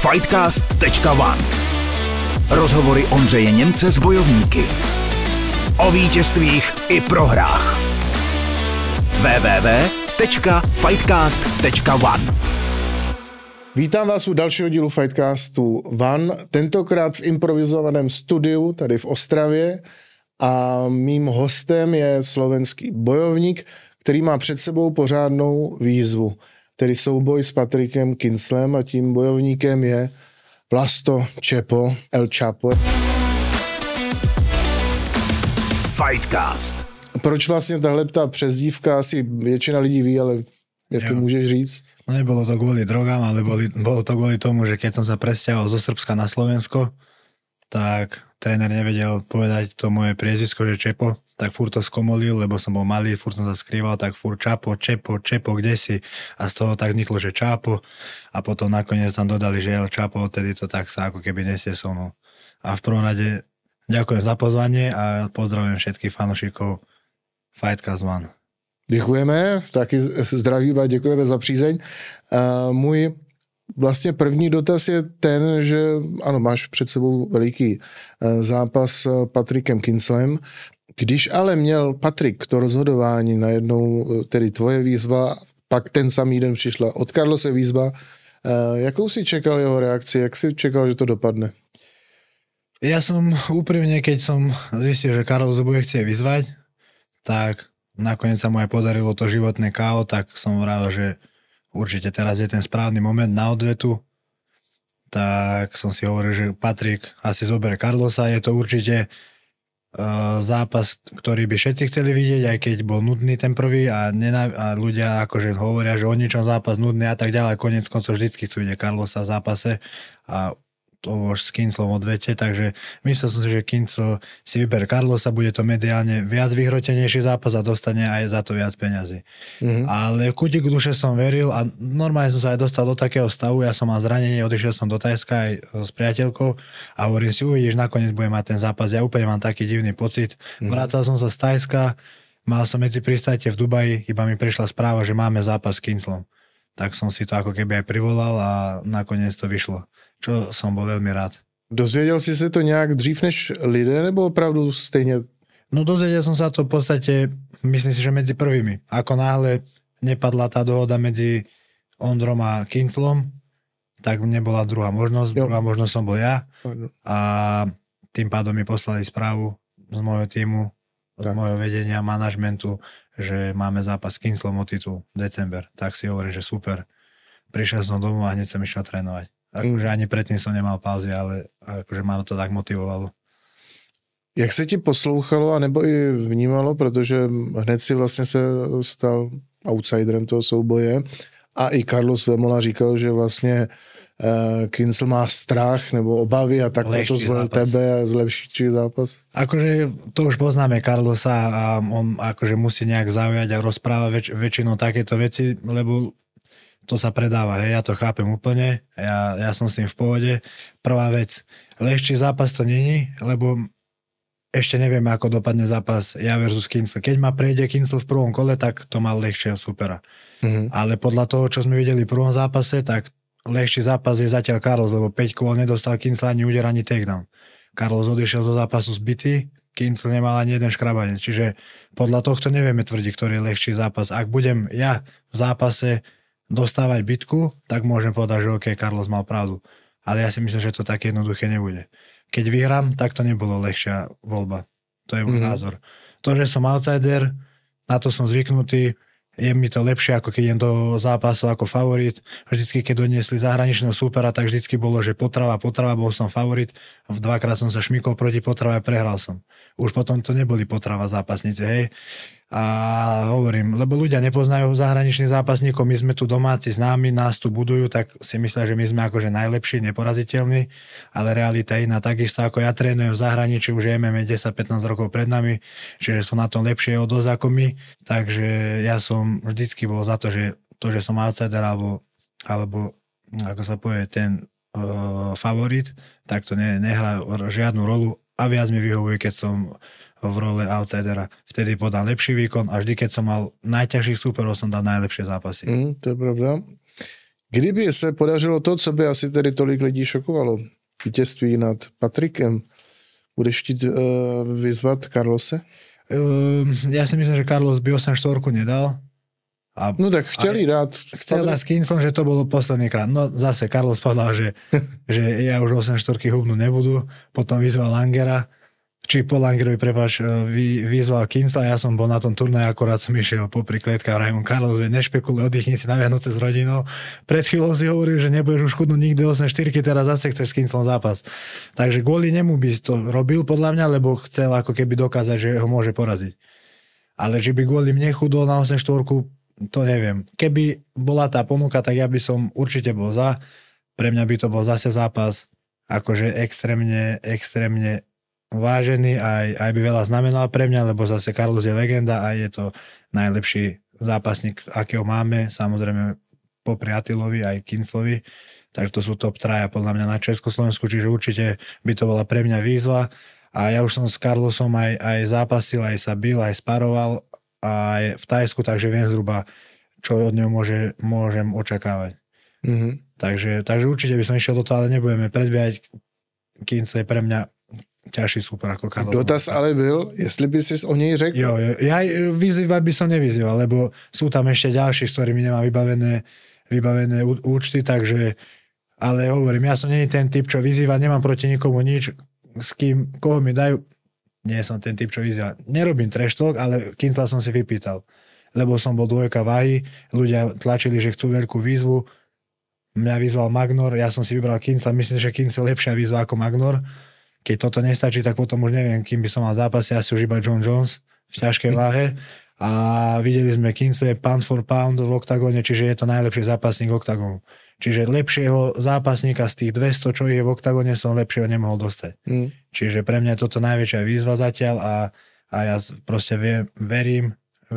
Fightcast.one. Rozhovory Ondřeje Němce s bojovníky. O vítězstvích i prohrách. www.fightcast.one. Vítám vás u dalšího dílu Fightcastu One, tentokrát v improvizovaném studiu tady v Ostravě a mým hostem je slovenský bojovník, který má před sebou pořádnou výzvu, tedy souboj s Patrikem Kinslem a tím bojovníkem je Vlasto Čepo El Chapo. Fightcast. Proč vlastně tahle přezdívka, asi většina lidí ví, ale jestli můžeš říct? No nebolo to kvôli drogám, ale bolo to kvôli tomu, že keď som sa presťahoval zo Srbska na Slovensko, tak tréner nevedel povedať to moje priezvisko, že Čepo, tak furt to skomolil, lebo som bol malý, furt som sa skrýval, tak furt Čapo, Čepo, kde si? A z toho tak vzniklo, že Čapo a potom nakoniec tam dodali, že El Chapo, odtedy to tak sa ako keby nesie so mnou. A v prvom rade ďakujem za pozvanie a pozdravujem všetkých fanúšikov Fightcast One. Děkujeme, taky zdravím a děkujeme za přízeň. Můj vlastně první dotaz je ten, že ano, máš před sebou veliký zápas s Patrikem Kinslem. Když ale měl Patrik to rozhodování najednou, tedy tvoje výzva, pak ten samý den přišla od Carlose výzva, jakou si čekal jeho reakci, jak si čekal, že to dopadne? Ja som úprimne, keď som zistil, že Carlos bude chcieť vyzvať, tak nakoniec sa mu aj podarilo to životné KO, tak som vravil, že určite teraz je ten správny moment na odvetu. Tak som si hovoril, že Patrik asi zoberie Carlosa. Je to určite zápas, ktorý by všetci chceli vidieť, aj keď bol nudný ten prvý a ľudia akože hovoria, že o ničom zápas nudný a tak ďalej. Koniec koncov vždycky chcú vidieť Carlosa v zápase a to už s Kinslom odvete, takže myslel som si, že Kinsl si vyber Carlosa, bude to mediálne viac vyhrotenejší zápas a dostane aj za to viac peňazí. Mm-hmm. Ale v kútiku duše som veril a normálne som sa aj dostal do takého stavu, ja som mal zranenie, odišiel som do Tajska aj s priateľkou a hovorím si, uvidíš, nakoniec budem mať ten zápas, ja úplne mám taký divný pocit. Mm-hmm. Vrácal som sa z Tajska, mal som medzi pristajte v Dubaji, iba mi prišla správa, že máme zápas s Kinslom. Tak som si to ako keby aj privolal a nakoniec to vyšlo. Čo som bol veľmi rád. Dozvěděl jsi se to nějak dřív než lidé, nebo opravdu stejně? No dozvedel som sa to v podstate, myslím si, že medzi prvými. Ako náhle nepadla tá dohoda medzi Ondrom a Kinslom, tak nebola druhá možnosť. Druhá možnosť som bol ja. A tým pádom mi poslali správu z môjho týmu, z môjho vedenia, manažmentu, že máme zápas s Kinslom o titul december. Tak si hovorím, že super. Prišiel som domov a hneď som išiel trénovať. Akože ani predtým som nemal pauzy, ale akože ma to tak motivovalo. Jak se ti poslouchalo, anebo i vnímalo, protože hned si vlastně se stal outsiderem toho souboje a i Carlos Vemola říkal, že vlastně Kinsl má strach nebo obavy a tak to zvolil tebe a zlepší zápas. Akože to už poznáme Carlosa a on akože musí nejak zaujať a rozprávať väčšinou takéto veci, lebo to sa predáva, hej, ja to chápem úplne, ja som s tým v pohode. Prvá vec, ľahší zápas to není, lebo ešte nevieme, ako dopadne zápas ja versus Kinsl. Keď ma prejde Kinsl v prvom kole, tak to mal ľahšieho supera. Mm-hmm. Ale podľa toho, čo sme videli v prvom zápase, tak ľahší zápas je zatiaľ Carlos, lebo 5 kôl nedostal Kinsl ani úder, ani takedown. Carlos odišiel zo zápasu zbytý, Kinsl nemal ani jeden škrabanec, čiže podľa tohto nevieme tvrdiť, ktorý je ľahší zápas. Ak budem ja v zápase dostávať bitku, tak môžem povedať, že OK, Carlos mal pravdu. Ale ja si myslím, že to tak jednoduché nebude. Keď vyhrám, tak to nebolo ľahšia voľba. To je môj názor. To, že som outsider, na to som zvyknutý, je mi to lepšie, ako keď idem do zápasu ako favorit. Vždycky, keď doniesli zahraničného súpera, tak vždycky bolo, že potrava, bol som favorit. Dvakrát som sa šmykol proti potrave a prehral som. Už potom to neboli potrava zápasníci, hej. A hovorím, lebo ľudia nepoznajú zahraničných zápasníkov, my sme tu domáci známi, nás tu budujú, tak si myslia, že my sme akože najlepší, neporaziteľní, ale realita je iná. Takisto ako ja trénujem v zahraničí, už MMA 10-15 rokov pred nami, čiže sú na tom lepšie od dosť ako my, takže ja som vždycky bol za to, že som outsider alebo ako sa povie, ten favorit, tak to nehrá žiadnu rolu a viac mi vyhovuje, keď som v role outsidera. Vtedy podal lepší výkon a vždy, keď som mal najťažších súperov, som dal najlepšie zápasy. To je pravda. Kdyby se podařilo to, co by asi tedy tolik lidí šokovalo, vítězství nad Patrikem, budeš chtít vyzvat Carlose? Ja si myslím, že Carlos by 8-4 nedal. No tak chtěli dát... Chcel dať s Kinslom, že to bolo posledný krát. No zase Carlos povedal, že ja už 8-4 hubnú nebudú. Potom vyzval Langera, či po Langerovi, vyzval Kinsla. Ja som bol na tom turnaji, akorát som išiel popri kletkách. Vrajím, Carlos, nešpekuluj, oddychni si na Vianoce s rodinou. Pred chvíľou si hovoril, že nebudeš už chudnúť nikdy 8-4, teraz zase chceš s Kinslom zápas. Takže kvôli nemu by to robil podľa mňa, lebo chcel ako keby dokázať, že ho môže poraziť. Ale že by kvôli mne chudol na 8-4, to neviem. Keby bola tá ponuka, tak ja by som určite bol za. Pre mňa by to bol zase zápas akože extrémne vážený, aj by veľa znamenal pre mňa, lebo zase Carlos je legenda a je to najlepší zápasník, akého máme, samozrejme popri Attilovi aj Kinslovi, takže to sú top traja podľa mňa na Československu, čiže určite by to bola pre mňa výzva a ja už som s Carlosom aj zápasil, aj sa bil, aj sparoval aj v Thajsku, takže viem zhruba, čo od neho môžem očakávať. Mm-hmm. Takže určite by som išiel do toho, ale nebudeme predbiehať. Kinsle je pre mňa ťažší super ako Carlos. Dotaz ale byl, jestli by si o nej řekl? Jo, ja vyzývať by som nevyzýval, lebo sú tam ešte ďalší, s ktorými nemám vybavené účty, takže, ale hovorím, ja som nie ten typ, čo vyzýva, nemám proti nikomu nič, s kým, koho mi dajú, nie som ten typ, čo vyzýva. Nerobím trash talk, ale Kinsla som si vypýtal, lebo som bol 2 váhy, ľudia tlačili, že chcú veľkú výzvu, mňa vyzval Magnor, ja som si vybral Kinsla, myslím, že Kinsla je lepšia výzva ako Magnor. Keď toto nestačí, tak potom už neviem, kým by som mal zápasy, asi už iba John Jones v ťažkej váhe. A videli sme Kinsle pound for pound v oktagóne, čiže je to najlepší zápasník oktagónu. Čiže lepšieho zápasníka z tých 200, čo je v oktagóne, som lepšieho nemohol dostať. Čiže pre mňa je toto najväčšia výzva zatiaľ a ja proste verím,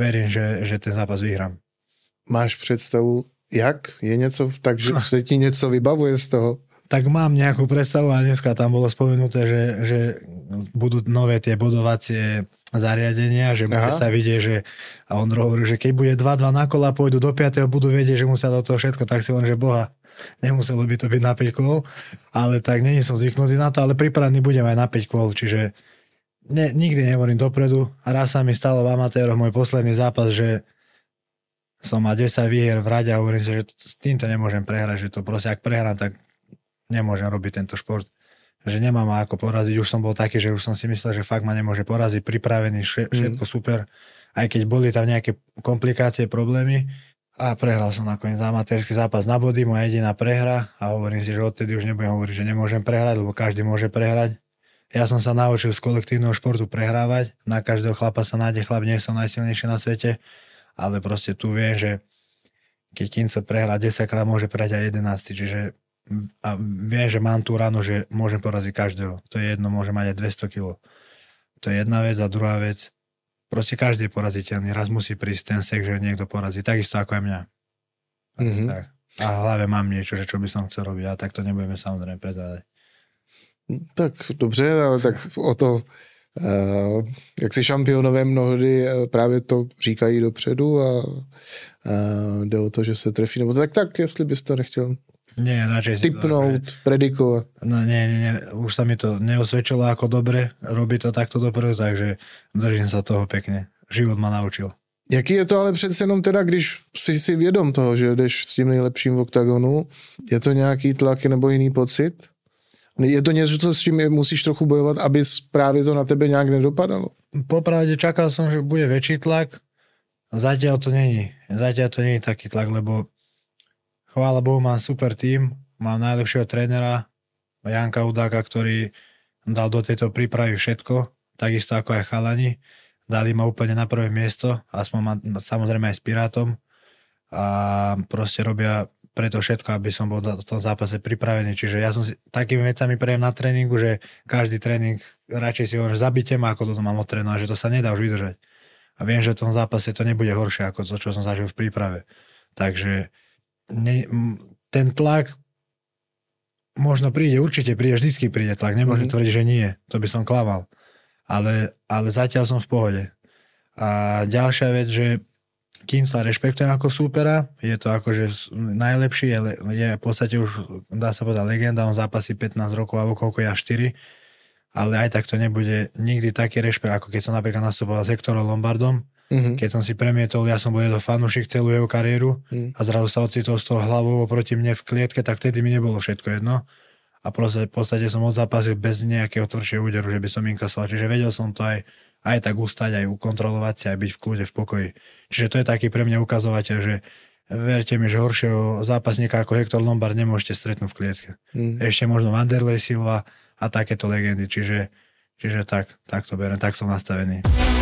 že ten zápas vyhrám. Máš představu, jak? Je něco, takže se ti něco vybavuje z toho? Tak mám nejakú predstavu a dneska tam bolo spomenuté, že budú nové tie bodovacie zariadenia, že bude sa vidieť, že a on hovorí, že keď bude 2-2 na kola, pôjdu do 5. budú vedieť, že musia do toho všetko, tak si on, že boha, nemuselo by to byť na 5 kôl, ale tak nie som zvyknutý na to, ale pripravený budem aj na 5 kôl, čiže nikdy nehovorím dopredu. Raz sa mi stalo v amatéroch môj posledný zápas, že som mal 10 výhier v rade a hovorím si, že s týmto nemôžem prehrať, že to proste ak prehrám, tak nemôžem robiť tento šport, že nemám ma ako poraziť, už som bol taký, že už som si myslel, že fakt ma nemôže poraziť, pripravený, všetko super, aj keď boli tam nejaké komplikácie, problémy a prehral som nakoniec amatérsky zápas na body, moja jediná prehra a hovorím si, že odtedy už nebudem hovoriť, že nemôžem prehrať, lebo každý môže prehrať. Ja som sa naučil z kolektívneho športu prehrávať, na každého chlapa sa nájde chlap, nie som najsilnejší na svete, ale proste tu viem, že keď Kinsle prehrá 10 krát, môže prehrať aj 11, čiže a viem, že mám tú ranu, že môžem poraziť každého. To je jedno, môžem mať aj 200 kg. To je jedna vec a druhá vec, proste každý je poraziteľný. Raz musí prísť ten sek, že niekto porazí. Takisto ako aj mňa. Mm-hmm. Tak. A v hlave mám niečo, že čo by som chcel robiť. A tak to nebudeme samozrejme prezrádať. Tak dobře, ale tak o to, jak si šampionové mnohdy právě to říkají dopředu a jde o to, že se trefí. Nebo tak jestli bys to nechtěl nie, radšej tipnúť, predikovať. No nie, už sa mi to neosvedčilo ako dobre, robí to takto dopredu, takže držím sa toho pekne. Život ma naučil. Jaký je to ale přece jenom teda, když si vědom toho, že jdeš s tím nejlepším v oktagonu, je to nějaký tlak nebo jiný pocit? Je to něco, s čím musíš trochu bojovat, aby právě to na tebe nějak nedopadalo? Popravde čakal som, že bude väčší tlak, zatiaľ to není taký tlak, lebo chvála Bohu, mám super tím, mám najlepšieho trénera, Janka Udáka, ktorý dal do tejto prípravy všetko, takisto ako aj chalani. Dali ma úplne na prvé miesto, aspoň samozrejme aj s Pirátom a proste robia preto všetko, aby som bol v tom zápase pripravený. Čiže ja som si takými vecami prejem na tréningu, že každý tréning radšej si hovorím, že zabite ma, ako toto mám odtrénovať, že to sa nedá už vydržať. A viem, že v tom zápase to nebude horšie, ako to, čo som zažil v príprave. Takže ten tlak možno príde, určite príde, vždycky príde tlak, nemôžem tvrdiť, že nie, to by som klamal, ale zatiaľ som v pohode. A ďalšia vec, že Kincla rešpektujem ako súpera, je to akože najlepší, je v podstate už, dá sa povedať, legenda, on zápasí 15 rokov, alebo koľko ja 4, ale aj tak to nebude nikdy taký rešpekt, ako keď som napríklad nastupoval s Hectorom Lombardom, keď som si premietol, ja som bol jeho fanúšik celú jeho kariéru a zrazu sa ocitol z toho hlavou proti mne v klietke, tak vtedy mi nebolo všetko jedno a v podstate som odzápasil bez nejakého tvrdšieho úderu, že by som inkasoval, čiže vedel som to aj tak ustať, aj ukontrolovať si, aj byť v kľude, v pokoji. Čiže to je taký pre mňa ukazovateľ, že verte mi, že horšieho zápasníka ako Hector Lombard nemôžete stretnúť v klietke. Ešte možno Wanderlei Silva a takéto legendy, čiže tak to beriem, tak som nastavený.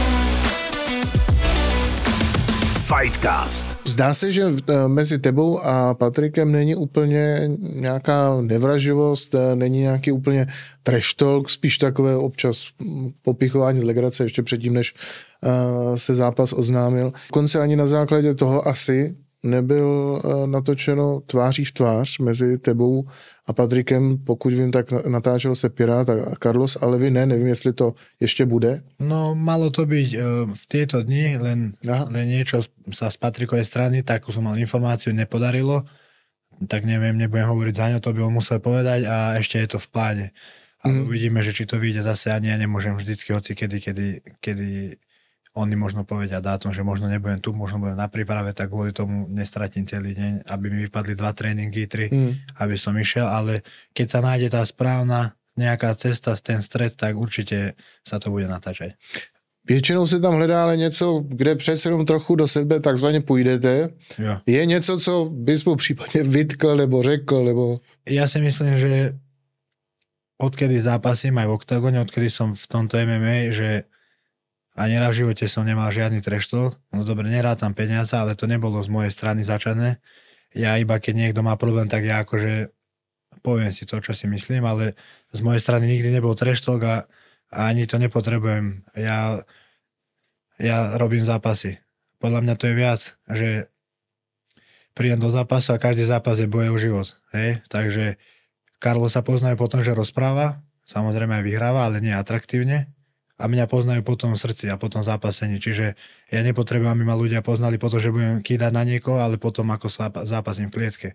Fightcast. Zdá se, že mezi tebou a Patrikem není úplně nějaká nevraživost, není nějaký úplně trash talk, spíš takové občas popichování z legrace ještě předtím, než se zápas oznámil. Dokonce ani na základě toho asi nebyl natočeno tváří v tvář mezi tebou a Patrikem, pokud vím, tak natáčel se Pirát a Carlos, ale vy nevím, jestli to ještě bude. No, malo to byť v tieto dni, len niečo sa z Patrikovej strany, tak som mal informáciu, nepodarilo, tak neviem, nebudem hovoriť za ňo, to by on musel povedať a ešte je to v pláne. Ale uvidíme, že či to vyjde zase, ani ja nemôžem vždycky hoci kedy oni možno povedia dátum, že možno nebudem tu, možno budem na príprave, tak kvôli tomu nestratím celý deň, aby mi vypadli 2 tréningy, 3, aby som išiel, ale keď sa nájde tá správna nejaká cesta, ten stred, tak určite sa to bude natáčať. Většinou se tam hledá ale něco, kde přece jenom trochu do sebe takzvaně půjdete. Jo. Je něco, co bys mu případně vytkl nebo řekl? Nebo... Ja si myslím, že odkedy zápasím aj v oktagóne, odkedy som v tomto MMA, že ani raz v živote som nemal žiadny trash talk. No dobre, nerátam peniaze, ale to nebolo z mojej strany začané. Ja iba keď niekto má problém, tak ja akože poviem si to, čo si myslím, ale z mojej strany nikdy nebol trash talk a ani to nepotrebujem. Ja robím zápasy. Podľa mňa to je viac, že prídem do zápasu a každý zápas je boje o život. Hej? Takže Carlos sa poznajú potom, že rozpráva, samozrejme aj vyhráva, ale nie atraktívne. A mňa poznajú potom v srdci a potom zápasení. Čiže ja nepotrebujem, aby ma ľudia poznali potom, že budem kýdať na niekoho, ale potom ako zápasím v klietke.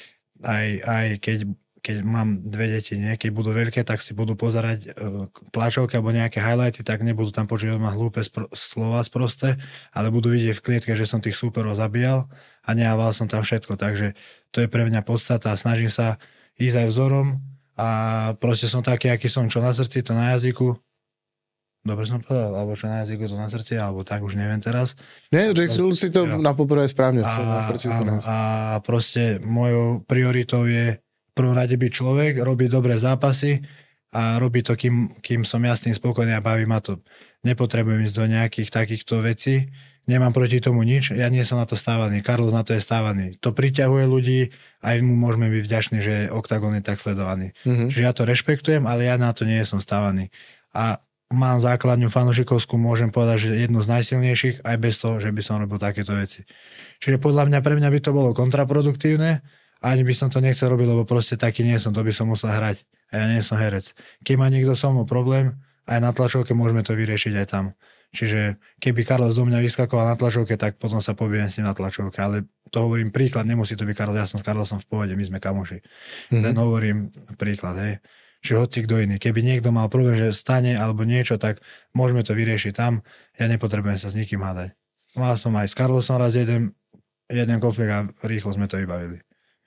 Aj keď mám 2 deti, nie? Keď budú veľké, tak si budú pozerať tlačovky alebo nejaké highlighty, tak nebudú tam počuť od ma hlúpe slova sprosté, ale budú vidieť v klietke, že som tých súperov zabíjal a nehával som tam všetko. Takže to je pre mňa podstata a snažím sa ísť aj vzorom a proste som taký, aký som, čo na srdci, to na jazyku. Dobre som povedal, alebo čo na jazyku, to na srdci, alebo tak, už neviem teraz. Ne, řekl si to na poprvé správne, na srdci to na. A proste mojou prioritou je v prvom rade byť človek, robiť dobré zápasy a robiť to, kým som ja s tým spokojný a baví ma to. Nepotrebujem ísť do nejakých takýchto vecí, nemám proti tomu nič, ja nie som na to stávaný, Carlos na to je stávaný. To priťahuje ľudí, aj mu môžeme byť vďační, že Oktagon je tak sledovaný. Čiže ja to rešpektujem, ale ja na to nie som stávaný. A mám základňu fanúšikovskú, môžem povedať, že jednu z najsilnejších, aj bez toho, že by som robil takéto veci. Čiže podľa mňa, pre mňa by to bolo kontraproduktívne, ani by som to nechcel robiť, lebo proste taký nie som, to by som musel hrať. A ja nie som herec. Keď má niekto so mnou problém, aj na tlačovke môžeme to vyriešiť aj tam. Čiže keby Carlos do mňa vyskakoval na tlačovke, tak potom sa pobijem s ním na tlačovke, ale to hovorím príklad, nemusí to byť Carlos, ja som s Carlosom v pohode, my sme kamoši. Len hovorím príklad, hej. Čiže hoci kto iný. Keby niekto mal problém, že stane alebo niečo, tak môžeme to vyriešiť tam. Ja nepotrebujem sa s nikým hádať. Mal som aj s Carlosom raz jeden konflikt a rýchlo sme to vybavili.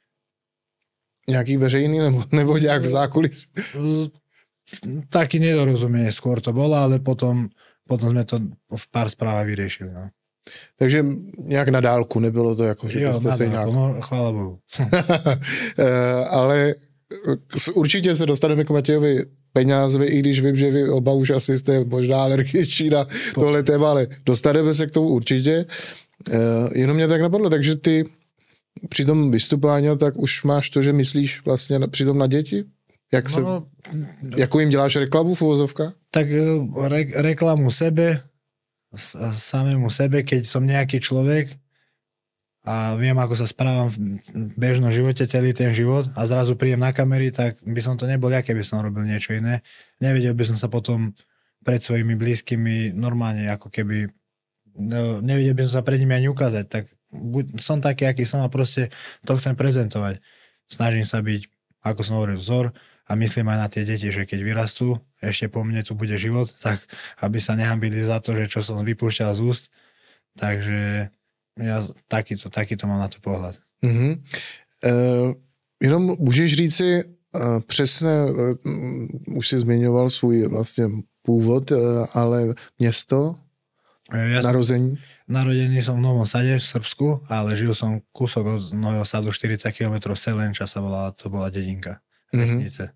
Nejaký veřejný nebo nejak v zákulis? Taký nedorozumie skôr to bolo, ale potom sme to v pár správach vyriešili. No. Takže nějak na dálku, nebylo to jako, že jo, jste se nějak... no chvála Bohu. Ale určitě se dostaneme k Matějovi Peňázovi, i když vím, že vy oba už asi jste možná alergičtí na tohle téma, ale dostaneme se k tomu určitě. Jenom mě tak napadlo, takže ty při tom vystupování tak už máš to, že myslíš vlastně přitom na děti? Jakou jim děláš reklamu v uvozovkách? Tak reklamu sebe, samému sebe, keď som nejaký človek a viem, ako sa správam v bežnom živote celý ten život a zrazu príjem na kamery, tak by som to nebol ja, keby som robil niečo iné. Nevedel by som sa potom pred svojimi blízkymi normálne ako keby no, nevedel by som sa pred nimi ani ukázať, tak som taký, aký som a proste to chcem prezentovať. Snažím sa byť, ako som hovoril, vzor a myslím aj na tie deti, že keď vyrastú, ešte po mne tu bude život, tak aby sa nehambili za to, že čo som vypúšťal z úst. Takže ja takýto mám na to pohled. Jenom můžeš říci přesně, už jsi zmiňoval svůj vlastně původ, ale město, narození? Narodený som v Novom Sade v Srbsku, ale žil som kúsok od Nového Sadu, 40 km Selenča to bola dedinka, vesnice.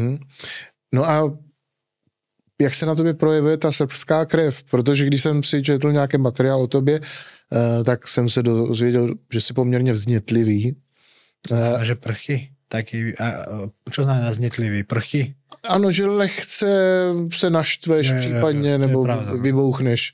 No a jak se na tobě projevuje ta srbská krev? Protože když jsem si četl nějaký materiál o tobě, tak jsem se dozvěděl, že jsi poměrně vznětlivý. A že prchy? Taký, čo znamená vznětlivý? Prchy? Ano, že lehce se naštveš případně, nebo vybouchneš.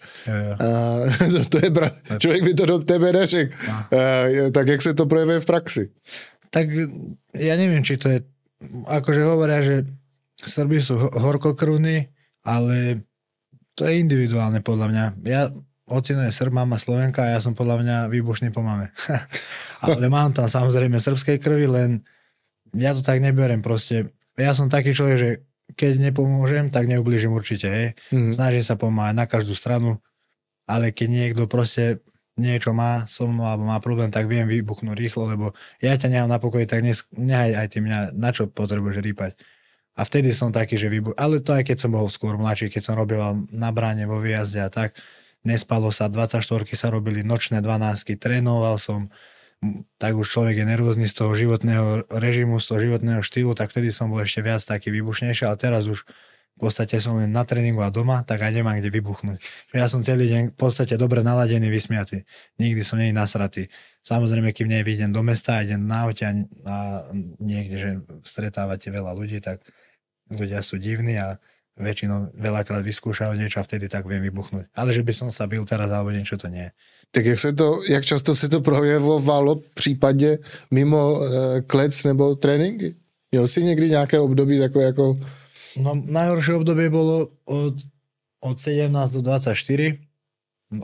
To je člověk by to do tebe neřekl. Tak jak se to projevuje v praxi? Tak ja neviem, či to je, akože hovoria, že Srbi sú horkokrvní, ale to je individuálne podľa mňa. Ocino je Srb, mama Slovenka a ja som podľa mňa výbušný po mame. Ale mám tam samozrejme srbskej krvi, len ja to tak neberiem proste. Ja som taký človek, že keď nepomôžem, tak neublížim určite, hej. Snažím sa pomáhať na každú stranu, ale keď niekto proste niečo má so mnou alebo má problém, tak viem vybuchnúť rýchlo, lebo ja ťa nechám na pokoji, tak nehaj aj ty mňa, na čo potrebuješ rýpať. A vtedy som taký, že ale to aj keď som bol skôr mladší, keď som robil na bráne vo výjazde a tak, nespalo sa, 24-ky sa robili, nočné 12-ky, trénoval som, tak už človek je nervózny z toho životného režimu, z toho životného štýlu, tak vtedy som bol ešte viac taký výbušnejší, ale teraz už v podstate som len na tréningu a doma, tak aj nemám kde vybuchnúť. Ja som celý deň v podstate dobre naladený, vysmiatý. Nikdy som nie nasratý. Samozrejme, kým nevidím do mesta, idem na aute a niekde, že stretávate veľa ľudí, tak ľudia sú divní a väčšinou veľakrát vyskúšajú niečo a vtedy tak viem vybuchnúť. Ale že by som sa bil teraz alebo niečo, to nie. Tak jak často se to projevovalo případně mimo klec nebo tréninky? Měl jsi někdy nějaké období takové jako... No najhoršie obdobie bolo od 17 do 24, 18,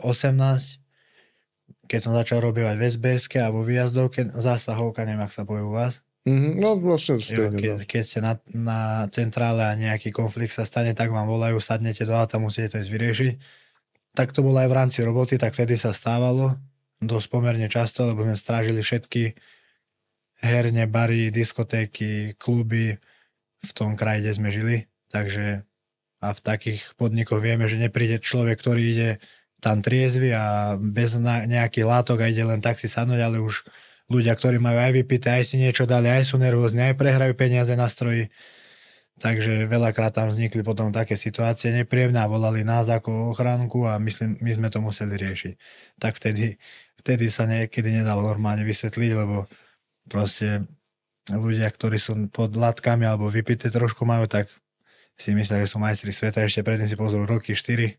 keď som začal robievať v SBS-ke a vo výjazdovke, zásahovka, neviem, ak sa povie u vás. No vlastne keď ste na centrále a nejaký konflikt sa stane, tak vám volajú, sadnete do auta, musíte to ísť vyriešiť. Tak to bolo aj v rámci roboty, tak vtedy sa stávalo dosť pomerne často, lebo sme strážili všetky herne, bary, diskotéky, kluby v tom kraji, kde sme žili. Takže a v takých podnikoch vieme, že nepríde človek, ktorý ide tam triezvy a bez nejakých látok a ide len tak si sadnúť, ale už ľudia, ktorí majú aj vypité, aj si niečo dali, aj sú nervózni, aj prehrajú peniaze na stroji. Takže veľakrát tam vznikli potom také situácie nepríjemné a volali nás ako ochránku a myslím, my sme to museli riešiť. Tak vtedy sa niekedy nedalo normálne vysvetliť, lebo proste ľudia, ktorí sú pod látkami alebo vypité trošku majú, tak si myslia, že sú majstri sveta, ešte predtým si pozrú roky 4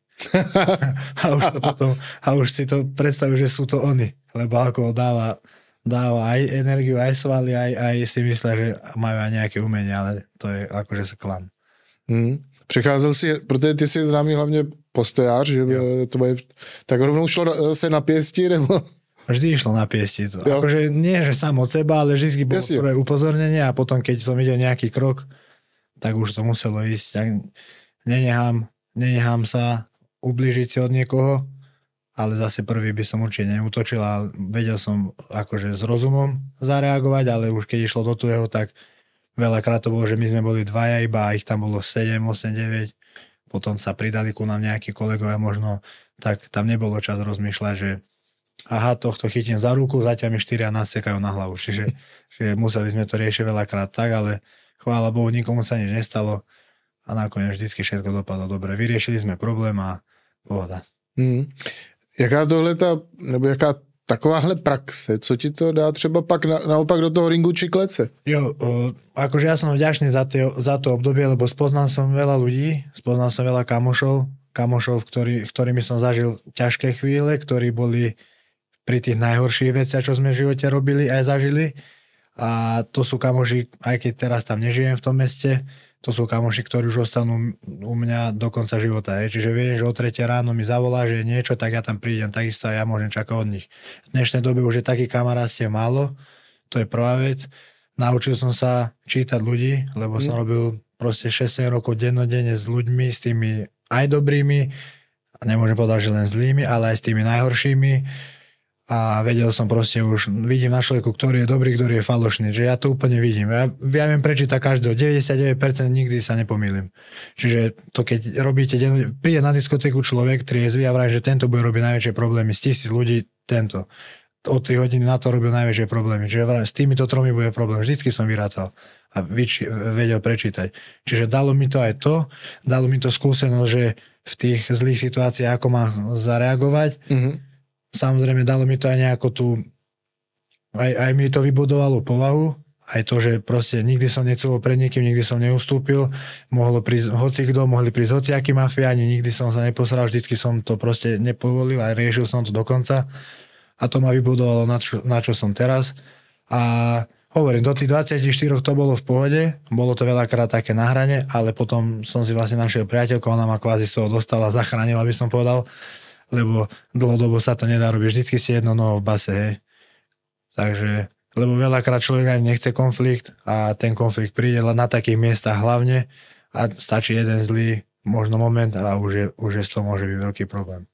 a už si to predstavujú, že sú to oni, lebo alkohol dáva aj energiu, aj svaly, aj si myslia, že majú aj nejaké umenie, ale to je akože klam. Přecházel si, protože ty jsi známý hlavně postojář, že to bude, tak rovnou šlo se na pěsti, nebo... Vždy išlo na piesti. Akože nie, že sám od seba, ale vždy bolo prvé upozornenie a potom, keď som videl nejaký krok, tak už to muselo ísť. Nenechám sa ublížiť si od niekoho, ale zase prvý by som určite neútočil a vedel som akože s rozumom zareagovať, ale už keď išlo do tuého, tak veľakrát to bolo, že my sme boli dvaja iba a ich tam bolo 7, 8, 9. Potom sa pridali ku nám nejakí kolegovia možno, tak tam nebolo čas rozmýšľať, že aha, tohto chytím za ruku, zatiaľ mi 4 nasekajú na hlavu. Čiže museli sme to riešiť veľakrát tak, ale chvála Bohu, nikomu sa nič nestalo a nakoniec vždycky všetko dopadlo dobre. Vyriešili sme problém a pohoda. Jaká takováhle praxe, co ti to dá třeba pak naopak do toho ringu či klece? Jo, akože ja som vďačný za to obdobie, lebo spoznal som veľa ľudí, spoznal som veľa kamošov, ktorými som zažil ťažké chvíle, ktorí boli pri tých najhorších veciach, čo sme v živote robili, aj zažili. A to sú kamoši, aj keď teraz tam nežijem v tom meste, to sú kamoši, ktorí už ostanú u mňa do konca života. Čiže viem, že o 3 ráno mi zavolá, že je niečo, tak ja tam prídem, takisto a ja môžem čakať od nich. V dnešnej dobe už je taký kamarátstiev málo, to je prvá vec. Naučil som sa čítať ľudí, lebo som robil proste 6 rokov dennodenne s ľuďmi, s tými aj dobrými, nemôžem povedať, že len zlými, ale aj s tými najhoršími. A vedel som proste už, vidím na človeku, ktorý je dobrý, ktorý je falošný, že ja to úplne vidím. Ja viem prečítať každého, 99% nikdy sa nepomýlim. Čiže to keď robíte, príde na diskotéku človek, triezvy a vraví, že tento bude robiť najväčšie problémy, z 1000 ľudí tento. O 3 hodiny na to robil najväčšie problémy. Čiže vraví, s týmito 3 bude problém. Vždycky som vyrátal a vedel prečítať. Čiže dalo mi to aj to, dalo mi to skúsenosť, že v tých zlých situáciách, ako mám zareagovať, samozrejme, dalo mi to aj nejakú tú... Aj mi to vybudovalo povahu, aj to, že proste nikdy som necúval pred niekým, nikdy som neustúpil, mohlo prísť hocikto, mohli prísť hociakí mafiáni, nikdy som sa neposral, vždycky som to proste nepovolil a riešil som to dokonca. A to ma vybudovalo na čo som teraz. A hovorím, do tých 24 to bolo v pohode, bolo to veľakrát také na hrane, ale potom som si vlastne našiel priateľku, ona ma kvázi z toho dostala, zachránila, by som povedal, lebo dlhodobo sa to nedá robiť. Vždycky si jedno noho v base, hej. Takže, lebo veľakrát človek ani nechce konflikt a ten konflikt príde na takých miestach hlavne a stačí jeden zlý možno moment a už je z toho môže byť veľký problém.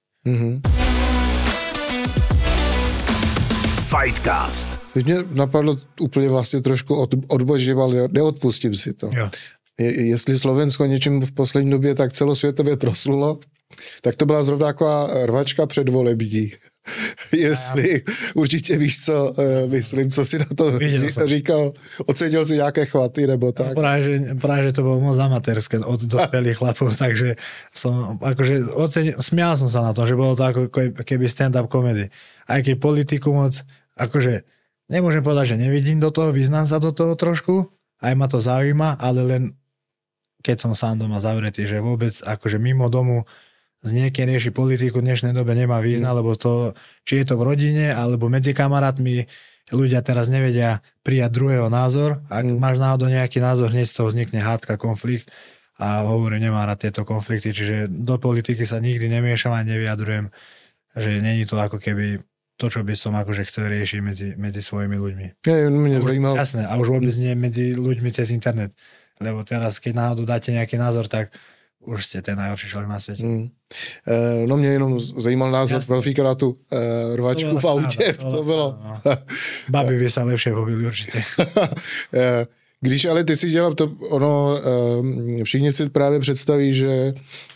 Fightcast. Teď mě napadlo úplně vlastně trošku odbočím, ale neodpustím si to. Jo. Jestli Slovensko něčím v poslední době tak celosvětově proslulo, tak to byla zrovna taková rvačka předvolební. Jestli určitě víš, co myslím, co si na to říkal, ocenil si nějaké chvaty nebo tak. Práve, že to bolo moc amatérske od dospelých chlapov, takže som akože smial som sa na to, že bolo to ako keby stand-up comedy. Aj keď politiku moc, akože nemôžem povedať, že nevidím do toho, vyznám sa do toho trošku, aj ma to zaujíma, ale len keď som sám doma zavretý, že vôbec akože mimo domu z niekým rieši politiku v dnešnej dobe nemá význam, lebo to, či je to v rodine, alebo medzi kamarátmi, ľudia teraz nevedia prijať druhého názor. Ak máš náhodou nejaký názor, hneď z toho vznikne hádka, konflikt a hovorím, nemám rád tieto konflikty, čiže do politiky sa nikdy nemiešam a nevyjadrujem, že není to ako keby to, čo by som akože chcel riešiť medzi svojimi ľuďmi. Jasné, a už vôbec nie medzi ľuďmi cez internet, lebo teraz, keď náhodou dáte nejaký názor, tak už ste ten najhorší človek na svete. No mě jenom zajímal názor profíka na tu rvačku v autě. To bylo. Babi by sa lepšie pobili určitě. Když ale ty si dělal to, všichni si právě představí, že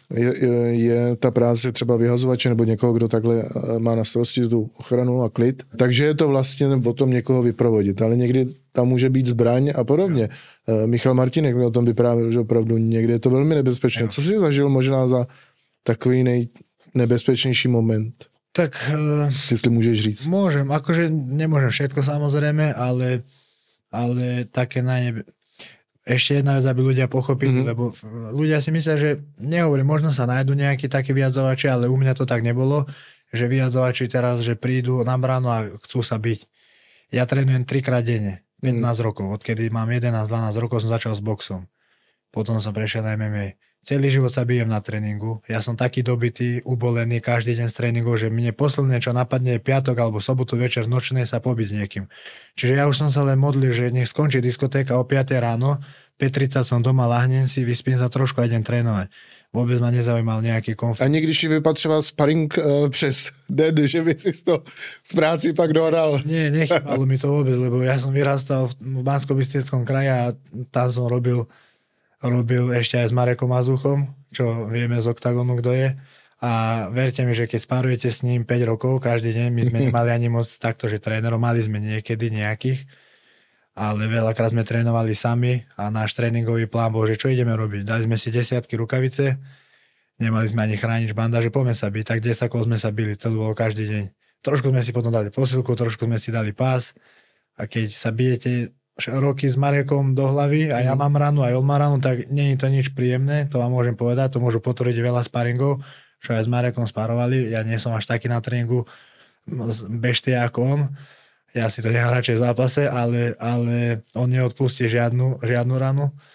je ta práce třeba vyhazovače nebo někoho, kdo takhle má na starosti tu ochranu a klid. Takže je to vlastně o tom někoho vyprovodit, ale někdy tam může být zbraň a podobně. Michal Martinek mi o tom vyprávěl, že opravdu někdy je to velmi nebezpečné. Co jsi zažil možná za takový nejnebezpečnější moment? Tak... Jestli můžeš říct. Môžem, akože nemôžem všetko samozrejme, ale také ešte jedna vec, aby ľudia pochopili, lebo ľudia si myslia, že nehovorím, možno sa nájdu nejakí takí vyjadzovači, ale u mňa to tak nebolo, že vyjadzovači teraz, že prídu na bránu a chcú sa byť. Ja trénujem 3-krát denne, 15 rokov, odkedy mám 11-12 rokov som začal s boxom. Potom som prešiel na MMA. Celý život sa bijem na tréningu. Ja som taký dobitý, ubolený každý deň z tréningu, že mne posledné, čo napadne, je piatok alebo sobotu večer nočné sa pobiť s niekým. Čiže ja už som sa len modlil, že nech skončí diskotéka o 5 ráno, 5:30 som doma, lahnem si, vyspím sa trošku a idem trénovať. Vôbec ma nezaujímal nejaký konflikt. Ani když si vypatřoval sparring přes den, že by si to v práci pak dohral? Nie, nechybalo mi to vôbec, lebo ja som vyrastal v Banskobystrickom kraji a tam som robil ešte aj s Marekom Mazuchom, čo vieme z Oktagonu, kto je. A verte mi, že keď spárujete s ním 5 rokov každý deň, my sme nemali ani moc takto, že trénerov mali sme niekedy nejakých, ale veľakrát sme trénovali sami a náš tréningový plán bol, že čo ideme robiť. Dali sme si 10 rukavice, nemali sme ani chránič bandáže, poďme sa byť, tak 10 kol sme sa bili, celú bol každý deň. Trošku sme si potom dali posilku, trošku sme si dali pás a keď sa bijete roky s Marekom do hlavy a ja mám ranu, aj on má ranu, tak nie je to nič príjemné, to vám môžem povedať, to môžu potvrdiť veľa sparingov, čo aj s Marekom sparovali, ja nie som až taký na tréningu beštia ako on, ja si to nechám radšej v zápase, ale on neodpustí žiadnu ranu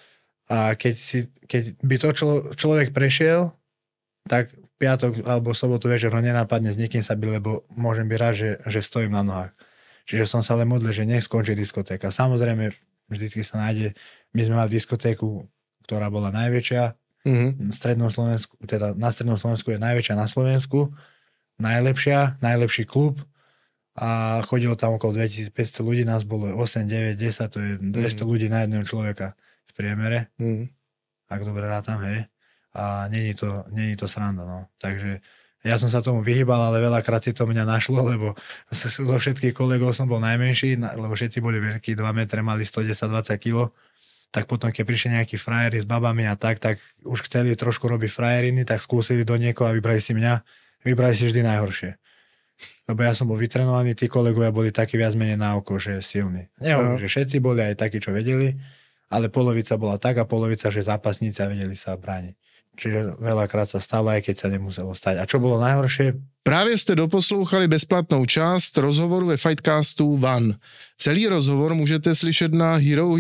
A keď by to človek prešiel, tak piatok alebo sobotu večer ho nenápadne s nikým sa byť, lebo môžem byť rád, že stojím na nohách. Čiže som sa len modlil, že nech skončí diskotéka. Samozrejme, vždycky sa nájde, my sme mali diskotéku, ktorá bola najväčšia, na strednom Slovensku je najväčšia na Slovensku, najlepší klub a chodilo tam okolo 2500 ľudí, nás bolo 8, 9, 10, to je 200 ľudí na jedného človeka v priemere, ak dobre rátam, hej. A není to sranda, no. Takže ja som sa tomu vyhýbal, ale veľakrát si to mňa našlo, lebo zo všetkých kolegov som bol najmenší, lebo všetci boli veľkí, 2 metre, mali 110-20 kg. Tak potom, keď prišli nejakí frajeri s babami a tak už chceli trošku robiť frajeriny, tak skúsili do niekoho a vybrali si mňa. Vybrali si vždy najhoršie. Lebo ja som bol vytrenovaný, tí kolegovia boli takí viac menej na oko, že silní. Nehovorím, že všetci boli aj takí, čo vedeli, ale polovica bola tak a polovica, že zápasníci vedeli sa brániť. Čiže veľakrát sa stalo, aj keď sa nemuselo stať. A čo bolo najhoršie? Právě jste doposlouchali bezplatnou část rozhovoru ve Fightcastu One. Celý rozhovor můžete slyšet na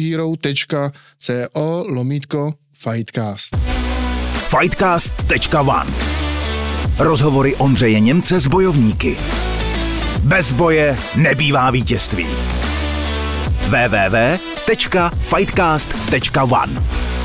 herohero.co/Fightcast. Fightcast.one. Rozhovory Ondřeje Němce s bojovníky. Bez boje nebývá vítězství. www.fightcast.one